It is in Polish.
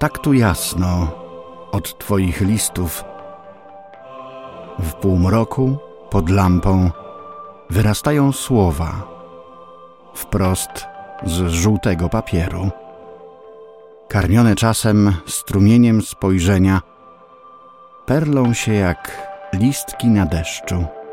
tak tu jasno od Twoich listów. W półmroku, pod lampą, wyrastają słowa, wprost z żółtego papieru. Karmione czasem strumieniem spojrzenia, perlą się jak listki na deszczu.